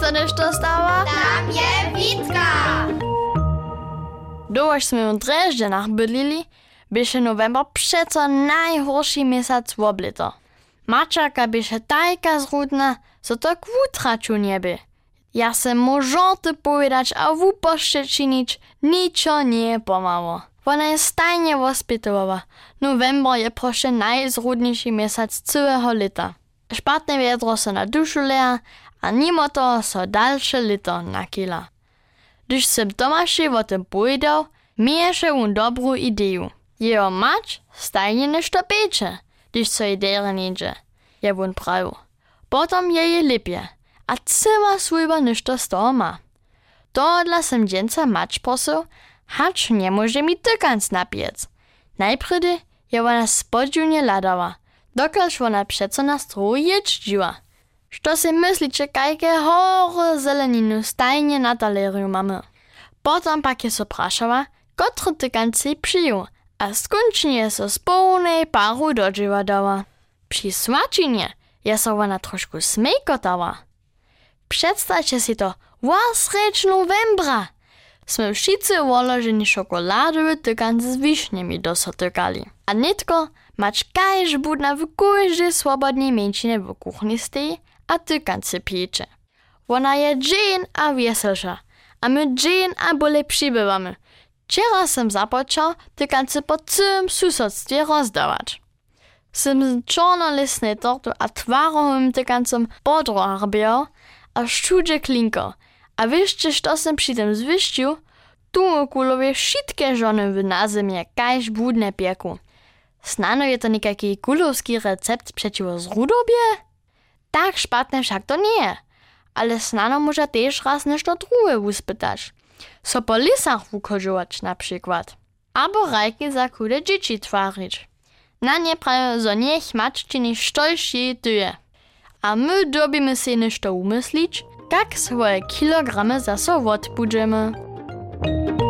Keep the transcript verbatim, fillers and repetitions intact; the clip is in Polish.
sa nešto stała? Tam je Witka! Dołoż sme v Drežďanach bydlili, byše november přeco najhorší měsac woblito. Mačarka byše tajka zrudna, so to k wutraču nieby. Ja se možorty povedać a wupošte činić, ničo nie pomało. Ona je stajnie wospitowa. November je proszę najzrudniejszy miesiąc całego lata. Špatne wiadro so na dušu leja, a mimo toho so dalsze lito nakila. Gdyż sem Tomaszy o tym powiedział, mieješe on dobrą ideju. Jeho mać stajnie nešto piecze, gdyż so jej dere niedzie. Je on prawił. Potom je je lepje, a cała służba nešto z toho ma. Tohodla sem dżęca mać prosil, hacz nie może mi tykanc napiec. Najpredy je ona spodziewnie ladała, dokelż ona przeco na stroju jeździła. Što si myślicie, kajke hory zeleninu stajnie na taleriu mamy? Potom pak je so prašała, kotry tykanci przyjął, a skończnie je so z pełnej paru dodziwa dała. Przy smačinie je so ona trošku smejkotała. Przedstawcie si to, wasreč novembra! Sme wszyscy ułożeni szokoladowe tykance z wiśniami dosotykali. A nitko mać kajż budna w każdej swobodnej mieńczynie w kuchni stoi, a tykance piecze. Ona je dzień a weselsza, a my dzień a bole przybywamy. Wczoraj sem zapoczął tykance po całym susodstwie rozdawać. Sem czarnolistnej tortu a twarowym tykancom podroharbiał, a szczudzie klinko. A wieszcie, što sem przy tym zwyścił? Tu kulowie wszystkie żony w nazimie kajż budne pieku. Snano je to nikaki kulowski recept przeciwo zrudobie? Tak szpatne však to nie, ale snano może też raz nešto drugie uspytać. So po lisach wukodzować na przykład. Albo rajki za kude dzieci twarzyć. Na nie prawie, zo niech maczczyni sztolś jej tyje. A my dobimy się nešto umyslić, jak swoje kilogramy zase odbudzimy.